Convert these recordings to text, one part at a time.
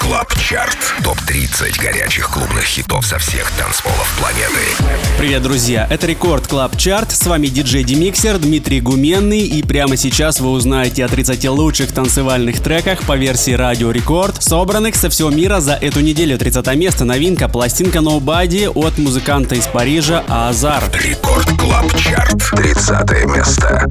Клаб Чарт. Топ-30 горячих клубных хитов со всех танцполов планеты. Привет, друзья! Это Рекорд Клаб Чарт. С вами диджей Демиксер Дмитрий Гуменный. И прямо сейчас вы узнаете о 30 лучших танцевальных треках по версии Радио Рекорд, собранных со всего мира за эту неделю. 30 место. Новинка. Пластинка Nobody от музыканта из Парижа Азар. Рекорд Клаб Чарт. 30 место.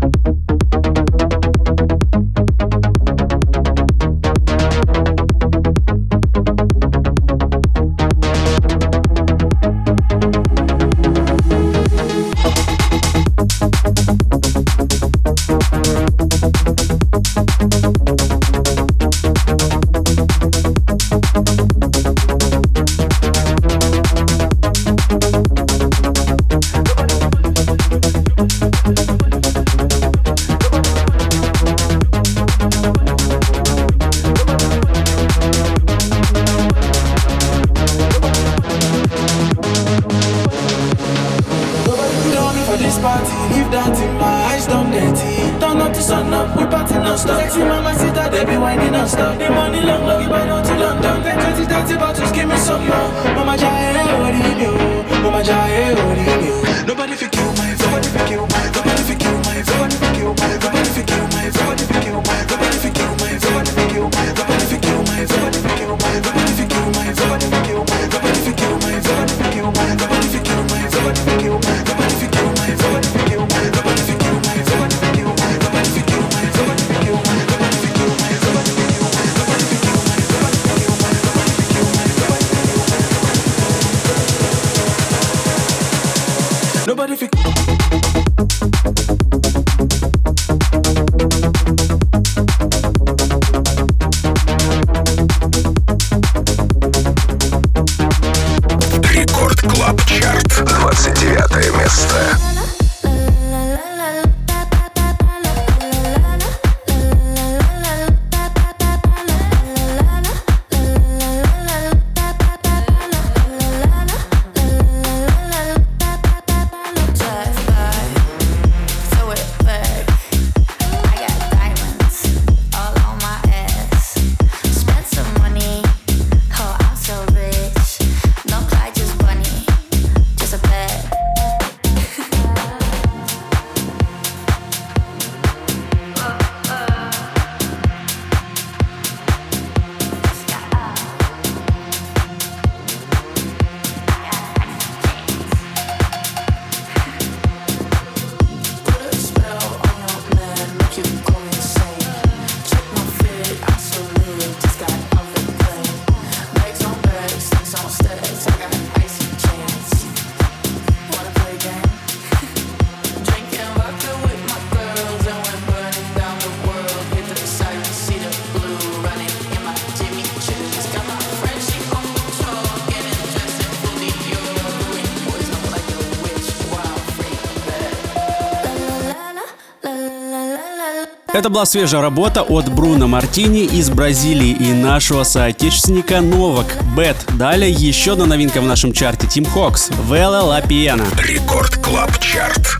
Это была свежая работа от Бруно Мартини из Бразилии и нашего соотечественника Новак Бэт. Далее еще одна новинка в нашем чарте. Тим Хокс, Вела Ла Пиена. Рекорд Клаб Чарт.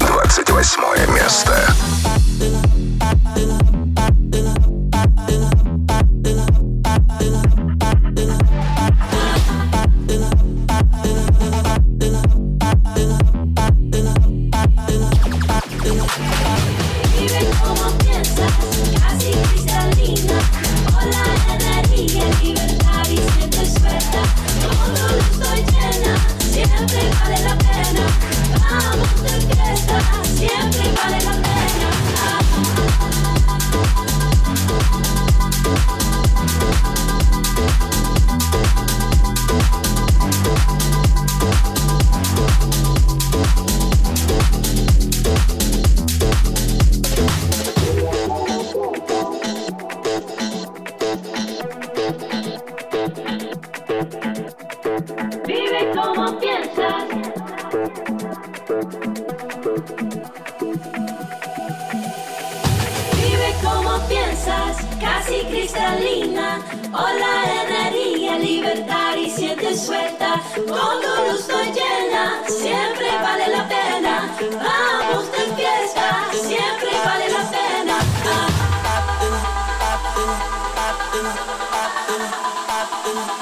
28 место. Siempre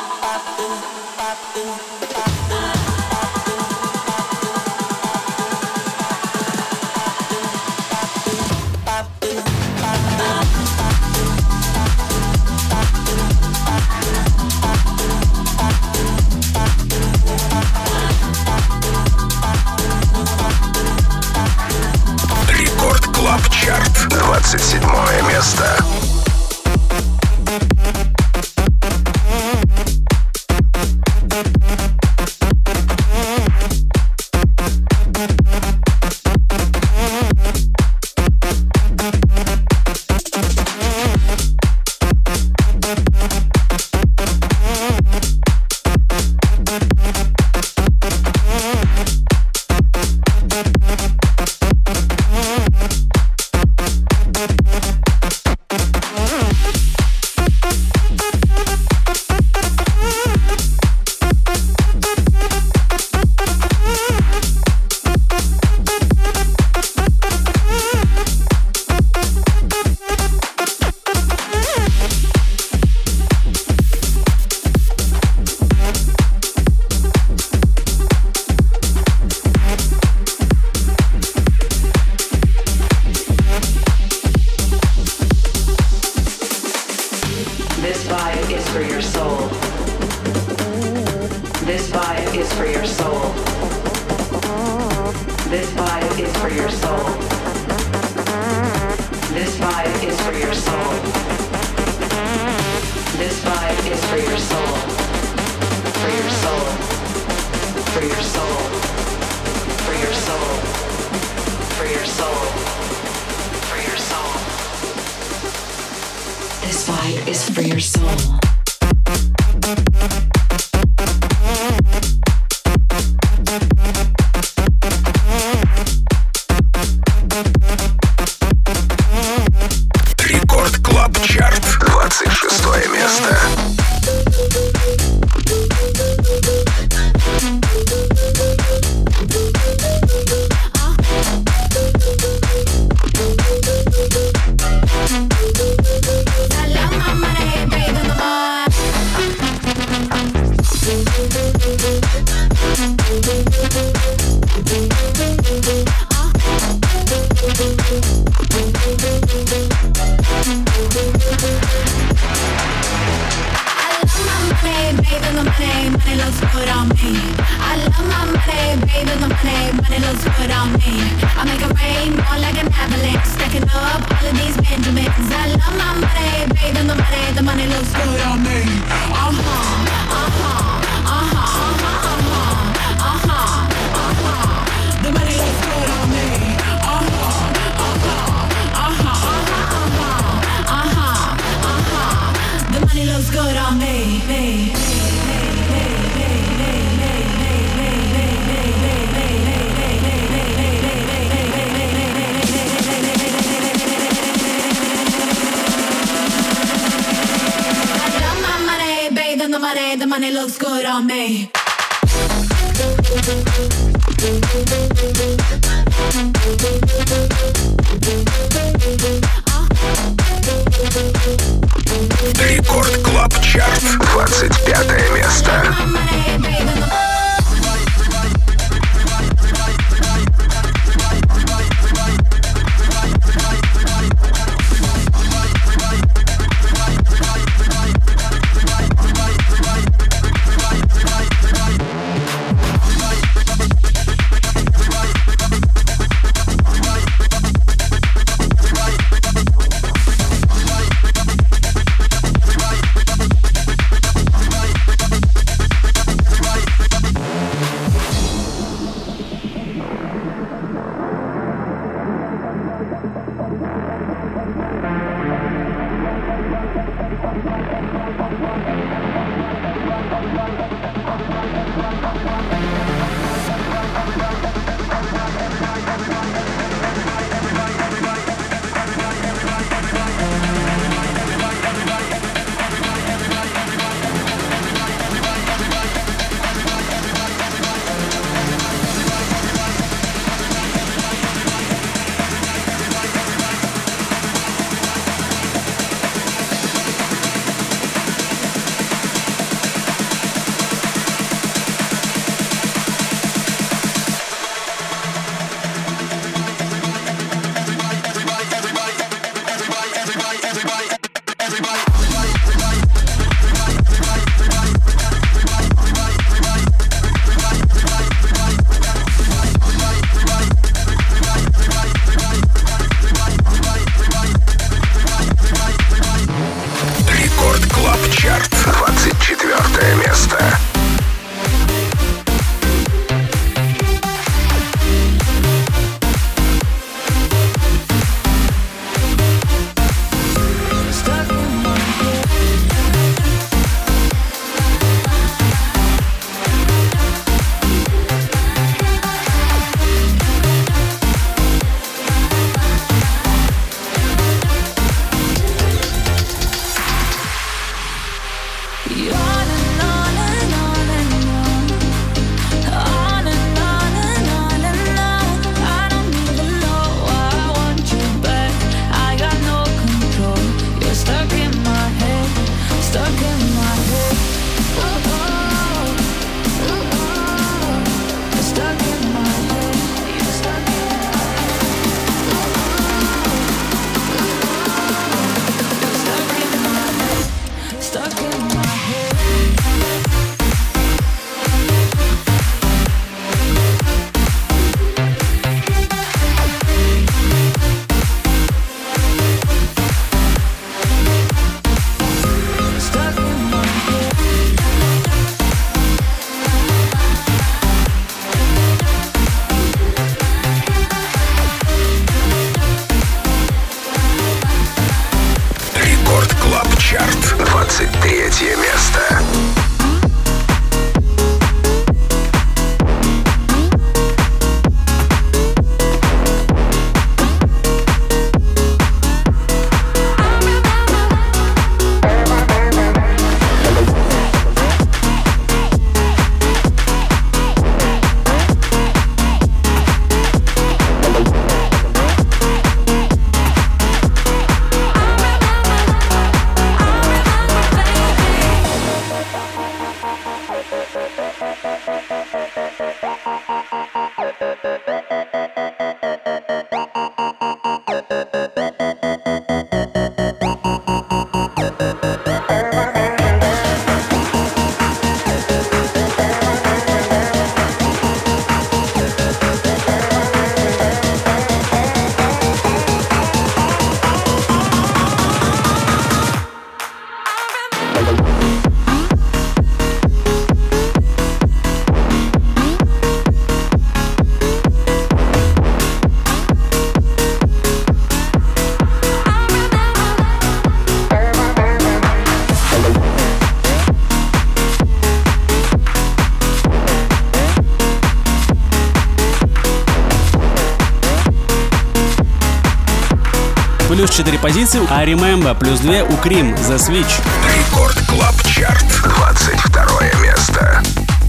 Рекорд Клаб Чарт, 25 место. плюс 4 позиции, а Remember плюс 2 у Cream The Switch. Рекорд Клаб Чарт, 22 место.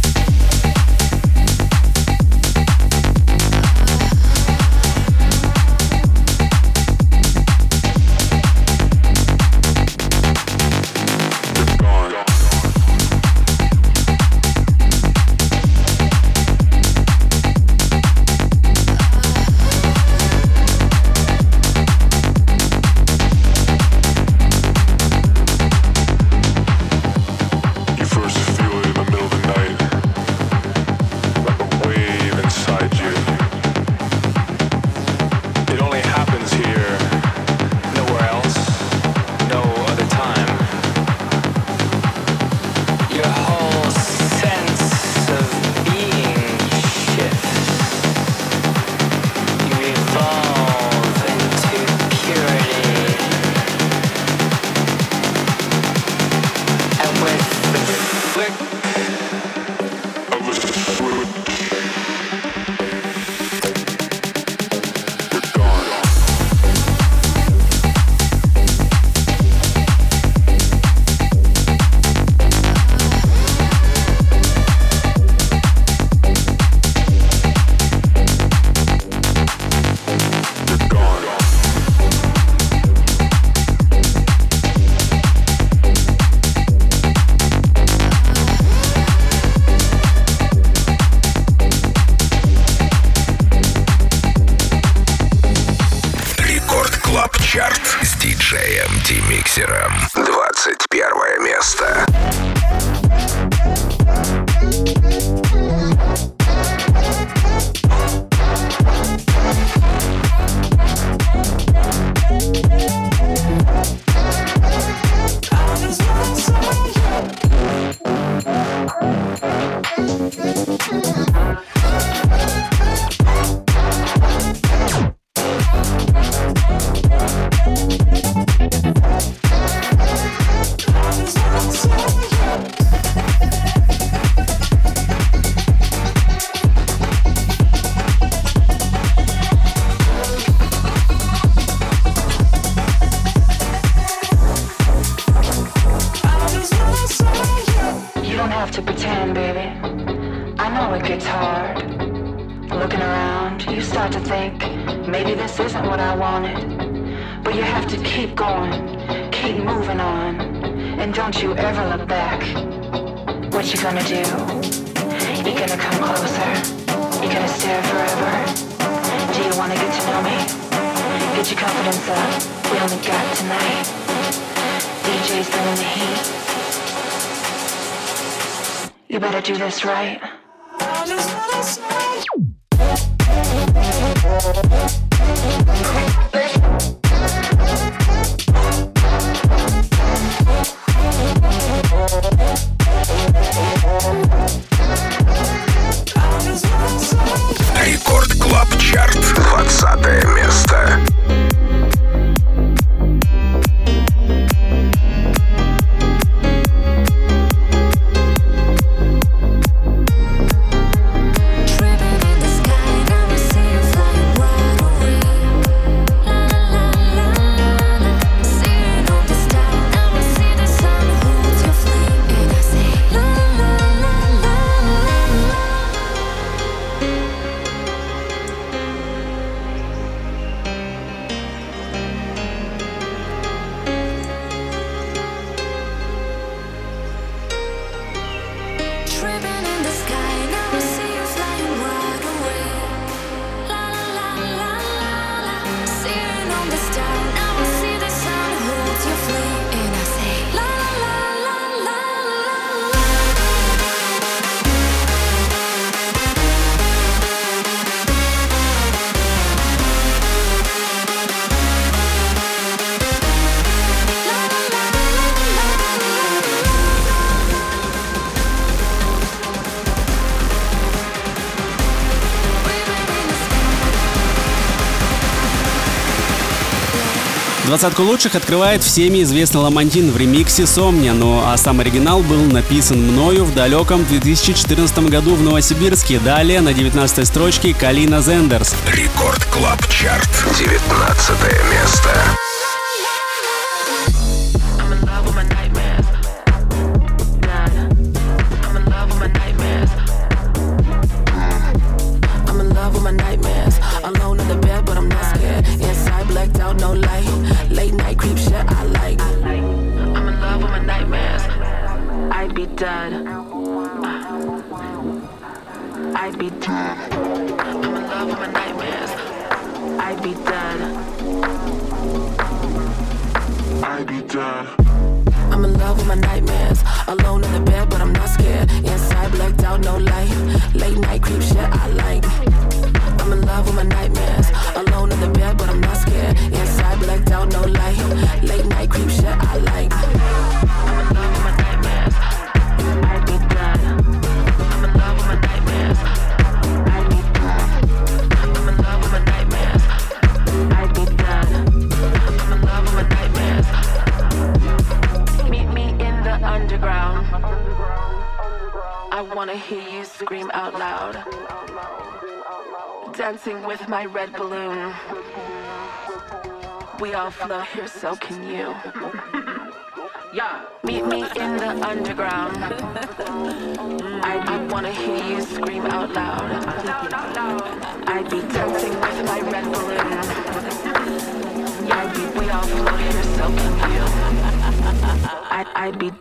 С диджеем Демиксером. 21 место. You better do this right. Рекорд Клаб Чарт, 20 место. Двадцатку лучших открывает всеми известный Ламантин в ремиксе «Somnia», ну а сам оригинал был написан мною в далеком 2014 году в Новосибирске. Далее на 19-й строчке Калина Зендерс. Рекорд Клаб Чарт, 19 место. be dead. I'd be dead. I'm in love with my nightmares. I'd be dead. I'd be dead. I'm in love with my nightmares. Alone in the bed, but I'm not scared. Inside, blacked out, no light. Late night creep shit I like. I'm in love with my nightmares. Alone in the bed, but I'm not scared. Inside, blacked out, no light. Late night creep shit I like. I'm in love with my nightmares. I'd be dead. I'm in love with my nightmares. I'd be dead. I'm in love with my nightmares. I'd be dead. I'm in love with my nightmares. Meet me in the underground. I wanna hear you scream out loud. Dancing with my red balloon. We all float here, so can you. Yeah. Meet me in the underground. I wanna hear you scream out loud. I'd be dancing with my red balloon. We all float here, so can you. I'd be.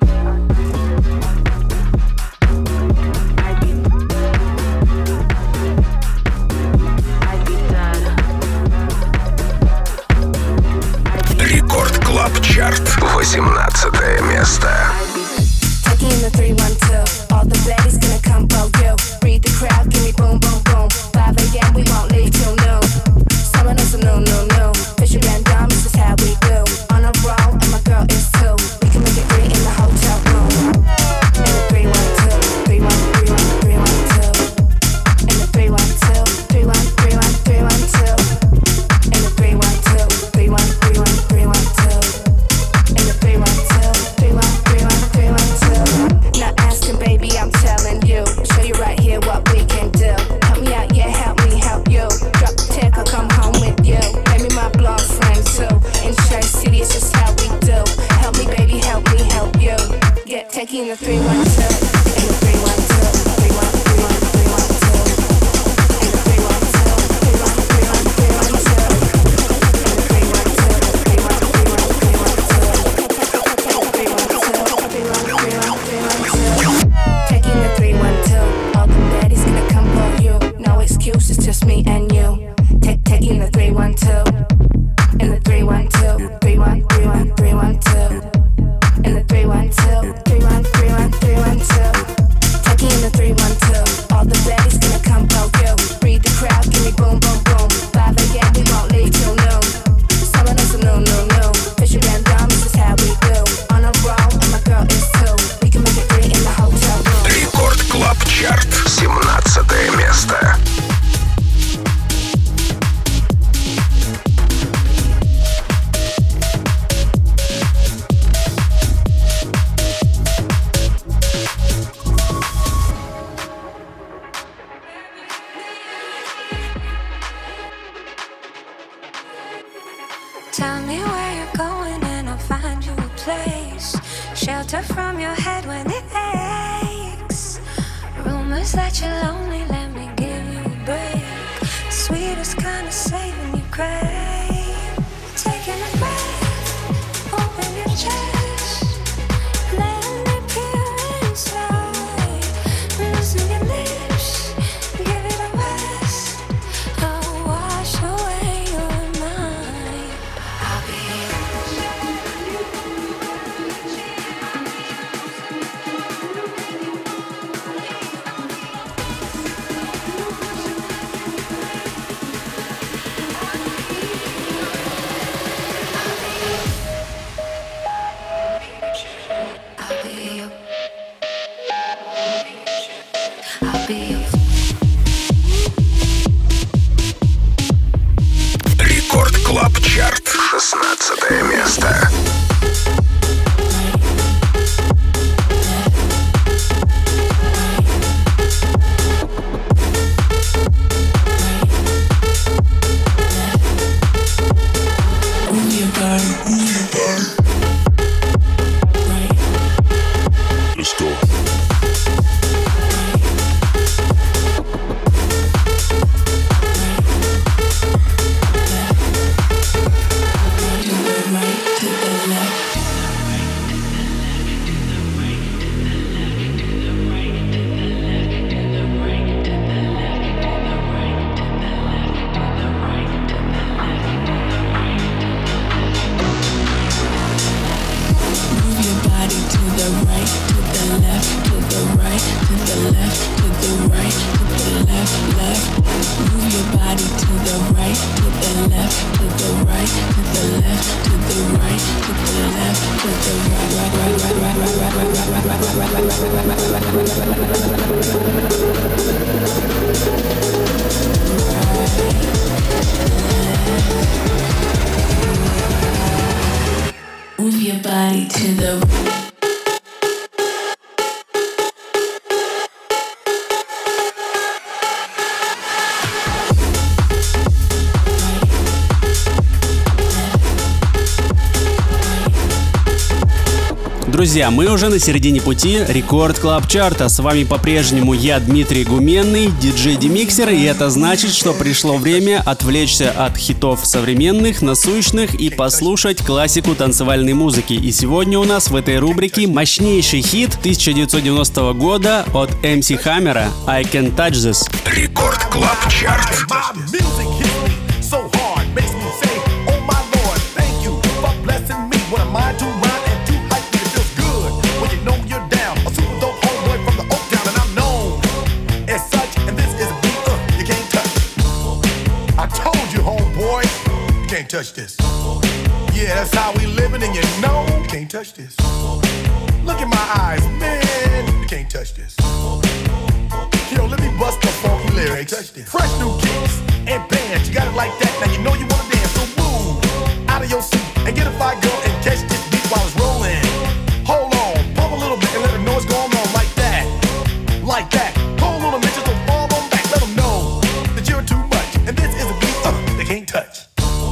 Рекорд Клаб Чарт, 18 место. Taking the 3-1-2, all the baddies gonna come for you. Read the crowd, give me boom, boom, boom. 5 a.m. we won't leave till noon. Summer knows a no. Fisher and dumb, this is how we do. On a roll, and my girl is too. We can make it great in the hotel room. In the 3-1-2, 3-1-3-1-3-1-2. In the 3-1-2, 3-1-3-1-3-1-2. In the 3-1-2, 3-1-3-1-3-1-2. In the 3-1-2, 3-1-3-1-3-1-2. Not asking, baby, I'm telling you. Show you right here what we can do. Help me out, yeah, help me help you. Drop the tech, I'll come home with you. Maybe my blonde friend too. In Church City, it's just how we do. Help me, baby, help me help you. Get taking the 3-1-2. In the 3-1-2, 3-1-3-1-3-1-2. In the 3-1-2, 3-1-3-1-3-1-2. Taking the 3-1-2, all the baddies gonna come for you. No excuses, just me and you. Taking the 3-1-2, in the 3-1-2, 3-1-3-1-3-1-2. In the 3-1-2, 3-1-3-1-3-1-2. Taking the 3-1-2, all the baddies gonna come for you. Read the crowd, give me boom, boom, boom. 5 a.m. we won't leave till noon. Summer knows a no. Fisher and dumb, this is how we do. On a roll, and my girl is too. We can make it great in the hotel room. Рекорд Клаб Чарт, 17 место. Tell me where you're going and I'll find you a place. Shelter from your head when it aches. Rumors that you're lonely, let me give you a break. Sweetest kind of saving you crave. Taking a breath, open your chest. Let me peer inside. Loosen your lips, give it a rest. I'll wash away your mind. I'll be Рекорд Клаб Чарт, 16 место. Let's go. To the left. Move your body to the right. Друзья, мы уже на середине пути Рекорд Клаб Чарта. С вами по-прежнему я, Дмитрий Гуменный, диджей Демиксер, и это значит, что пришло время отвлечься от хитов современных, насущных и послушать классику танцевальной музыки. И сегодня у нас в этой рубрике мощнейший хит 1990 года от MC Hammer I Can't Touch This. Рекорд Клаб Чарт. Touch this. Yeah, that's how we living, and you know you can't touch this. Look in my eyes, man, you can't touch this. Yo, let me bust the funky lyrics. Fresh new kicks and bands, you got it like that. Now you know you wanna dance, so move out of your seat and get a fire girl and catch this beat while it's rolling. Hold on, pump a little bit and let them know what's going on like that, like that. Hold on a minute, just don't fall on back. Let them know that you're too much, and this is a beat they can't touch.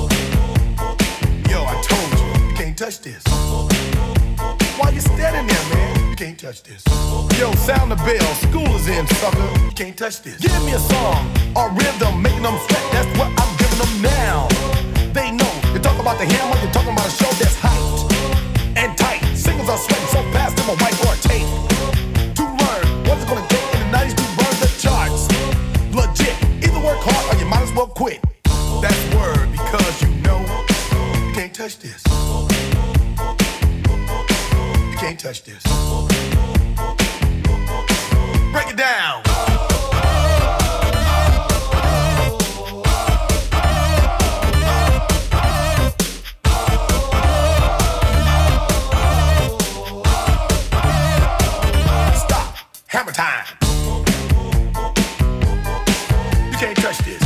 Touch this. Why you standing there, man? You can't touch this. Yo, sound the bell. School is in, sucker. You can't touch this. Give me a song or rhythm, making them sweat. That's what I'm giving them now. They know. You talk about the hammer, you're talking about a show that's hyped and tight. Singles are sweating so fast, them a white or a tape. To learn what's it gonna take in the 90s to burn the charts. Legit. Either work hard or you might as well quit. That's word because you know you can't touch this. Can't touch this. Break it down. Stop. Hammer time. You can't touch this.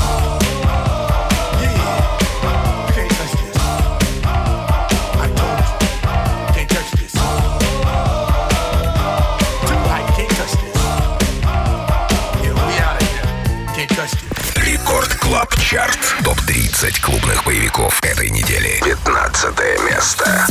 Рекорд Клаб Чарт. Топ-30 клубных боевиков этой недели. 15 место.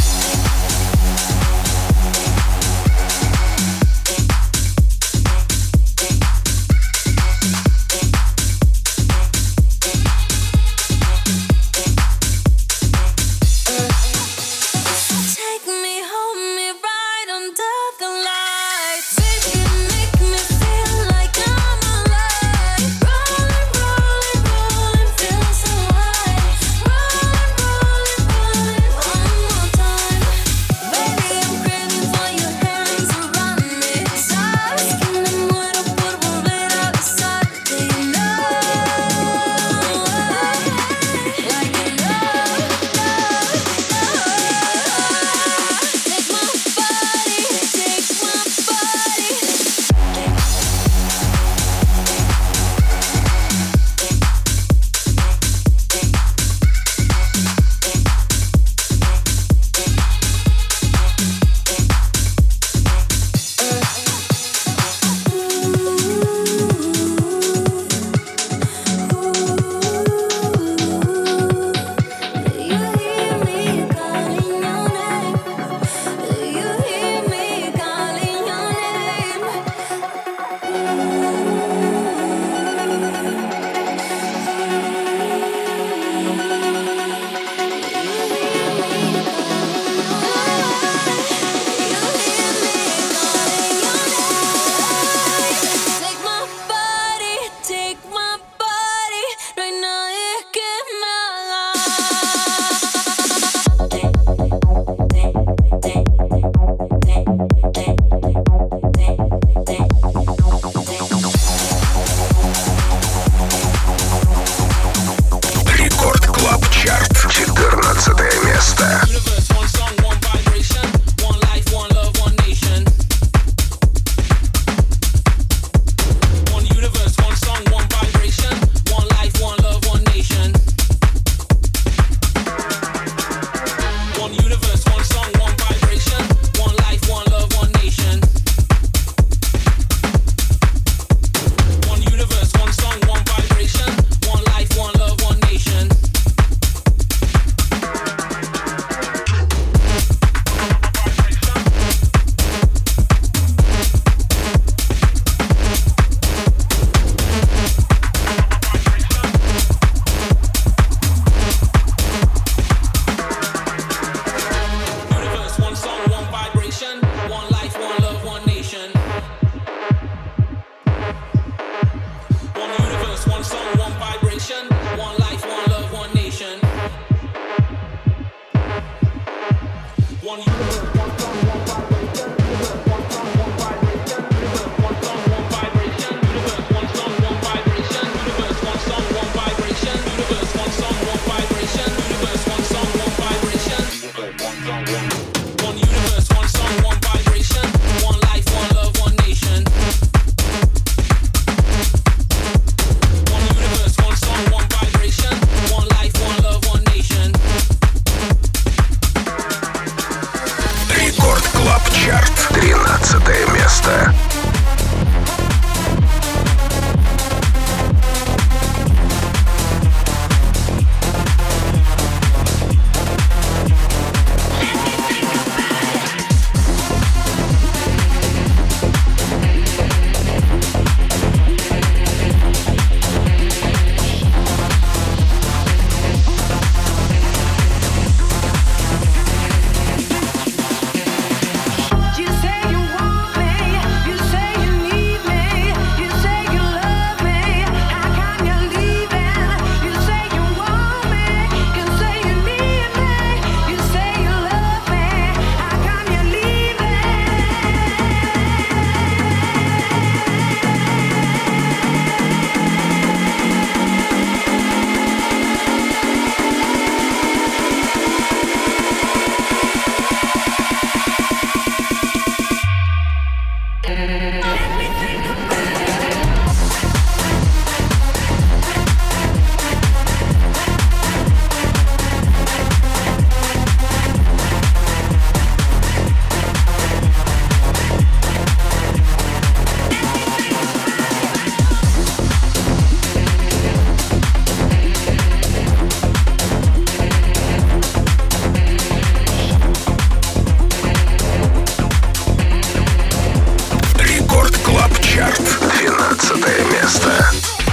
место.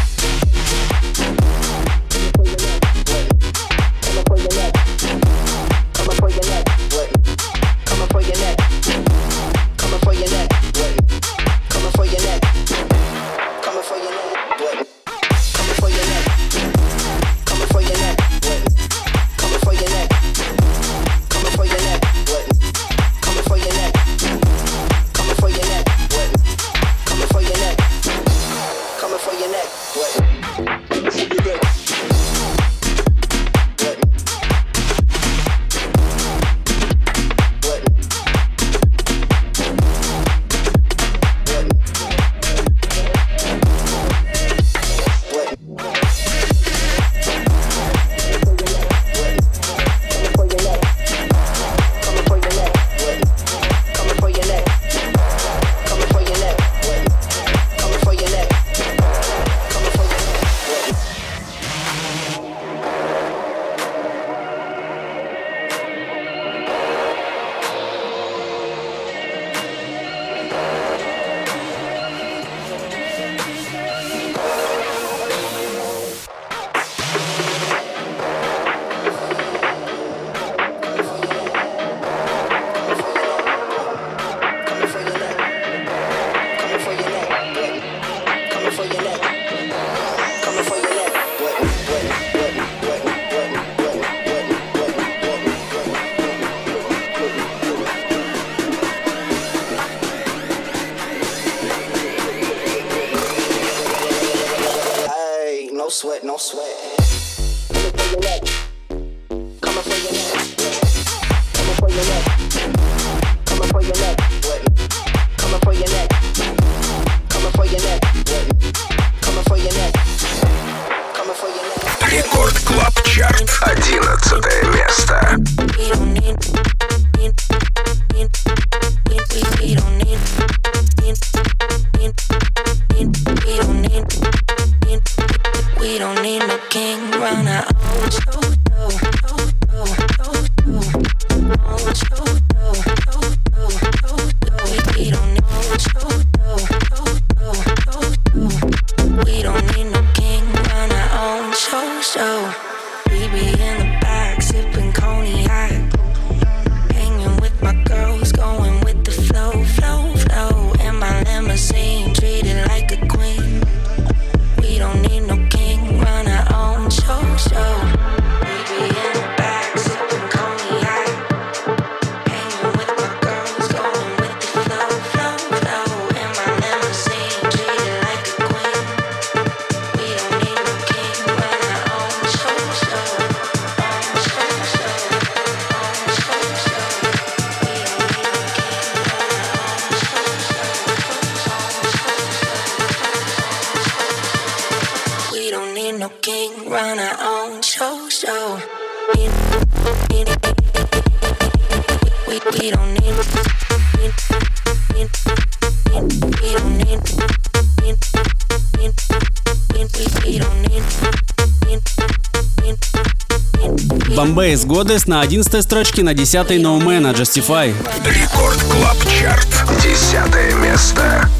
No sweat. Рекорд Клаб Чарт, 11 место. We don't need no king, run our own show. We don't need no show. We don't need no king, run our own show. We be in the back, sipping cognac, hanging with my girls, going with the flow. In my limousine, treated like a queen. We don't need no king, run our own show. We be in the back, sipping cognac, hanging with my girls, going with the flow. In my limousine, treated like a queen. We don't need no king, run our own show. We don't need no king, run our own show. We don't need. Бомбейс Goddess на 11 строчке, на 10-й No Man, Justify. Рекорд Клаб Чарт, 10 место.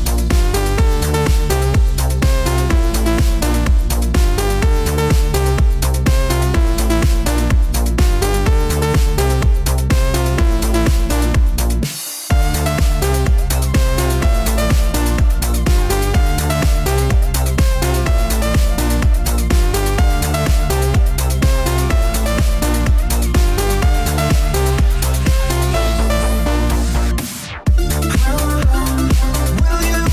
Will you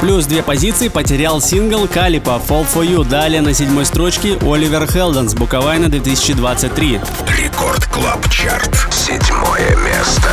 Плюс 2 позиции потерял сингл Калипа «Fall for You». Далее на 7-й строчке Оливер Хелденс «Буковайна 2023». Рекорд Клаб Чарт. 7-е место.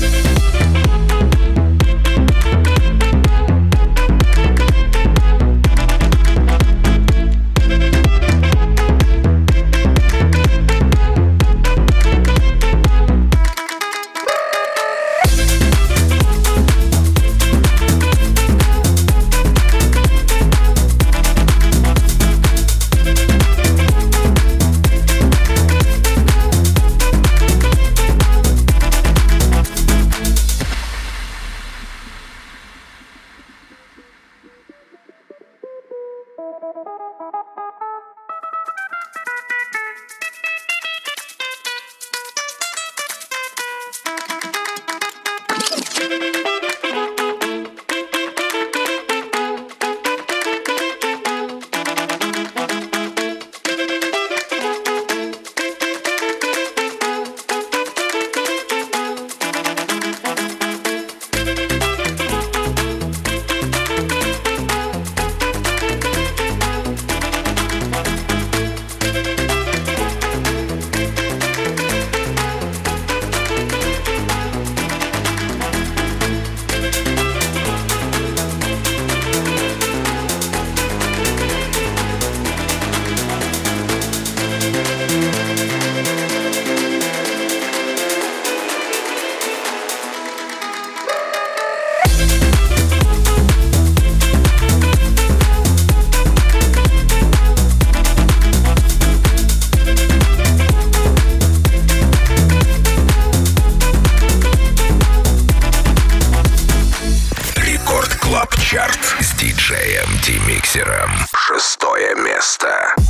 С диджеем Демиксером. 6-е место.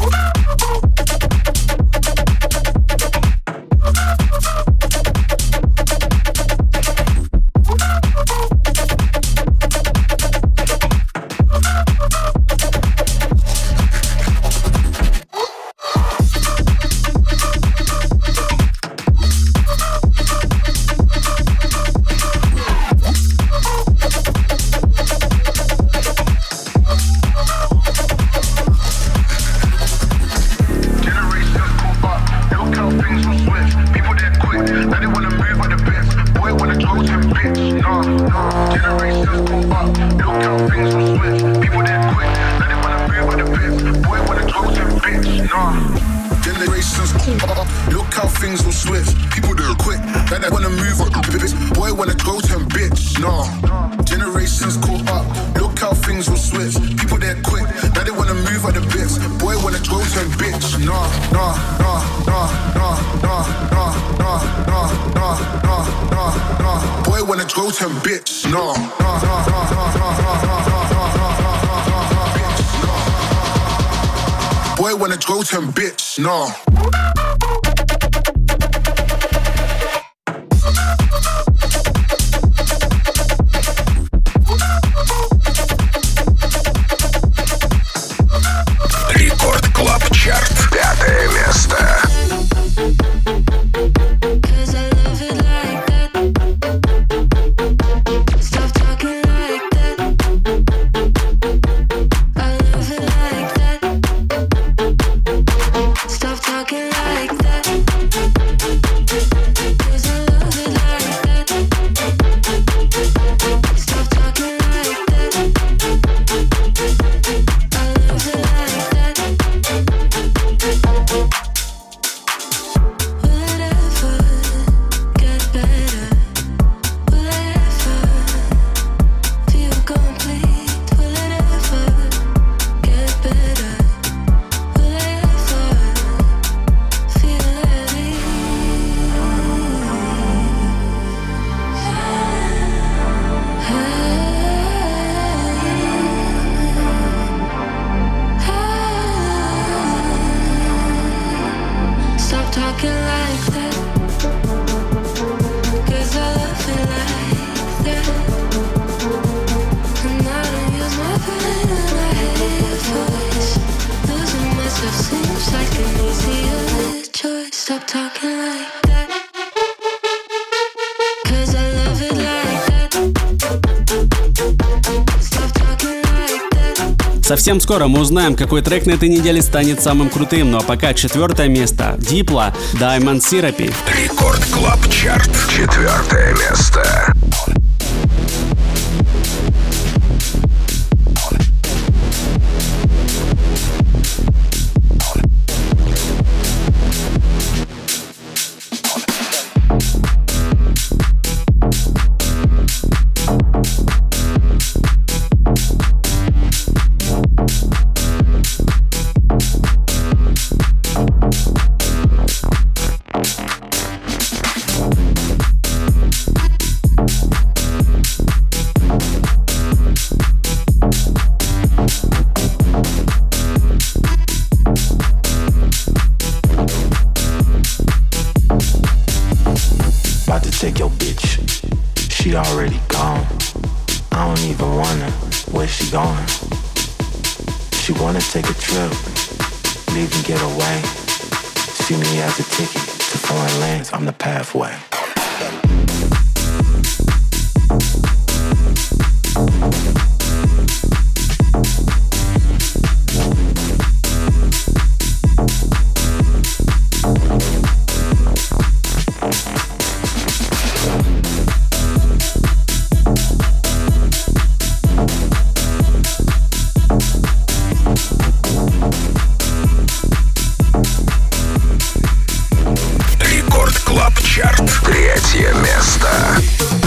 Bitch, no. Рекорд Клаб Чарт. 5-е место. Stop talking like Совсем скоро мы узнаем, какой трек на этой неделе станет самым крутым. Ну а пока 4 место. Diplo, Diamond Therapy. Рекорд Клаб Чарт. 4 место. Take your bitch, she already gone. I don't even wonder where she going. She wanna take a trip, leave and get away. See me as a ticket to foreign lands, I'm the pathway. Третье место.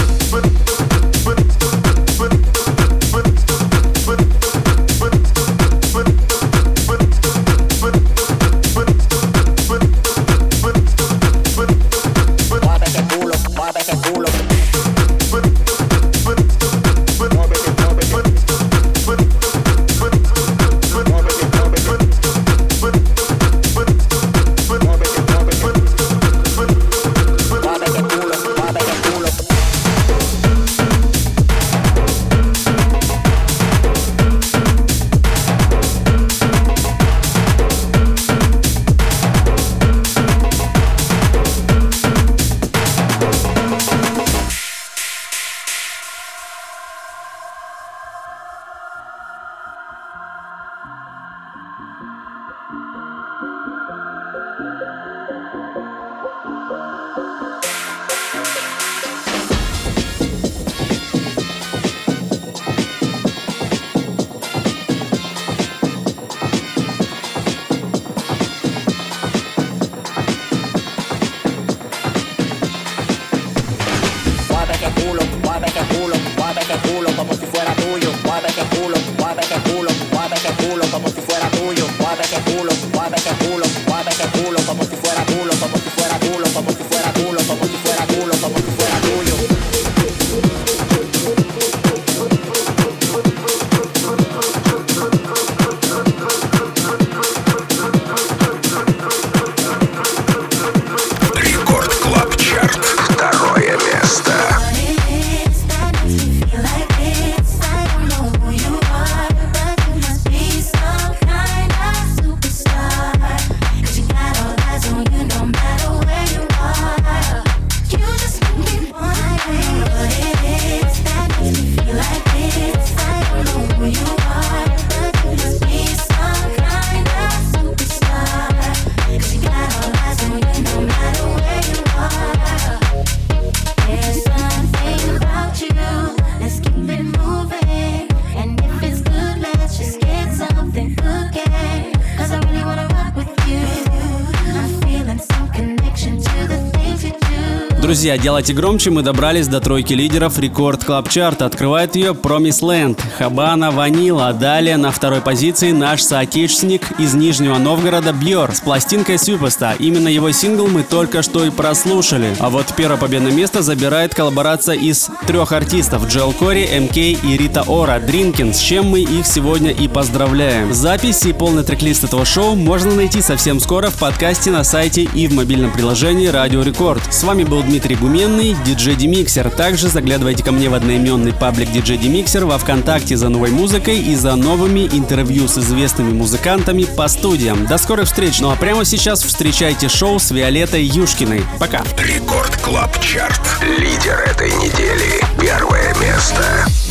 Друзья, делайте громче, мы добрались до тройки лидеров Рекорд Клаб Чарта. Открывает ее Promise Land, Habana Vanilla. Далее на второй позиции наш соотечественник из Нижнего Новгорода Björ с пластинкой Superstar. Именно его сингл мы только что и прослушали. А вот первое победное место забирает коллаборация из 3 артистов: Джоэл Кори, МК и Рита Ора, Drinkin', с чем мы их сегодня и поздравляем. Запись и полный трек-лист этого шоу можно найти совсем скоро в подкасте на сайте и в мобильном приложении Радио Рекорд. С вами был Дмитрий Гуменный, DJ Demixer. Также заглядывайте ко мне в одноименный паблик DJ Demixer во ВКонтакте за новой музыкой и за новыми интервью с известными музыкантами по студиям. До скорых встреч. Ну а прямо сейчас встречайте шоу с Виолеттой Юшкиной. Пока. Рекорд Клаб Чарт. Лидер этой недели. 1 место.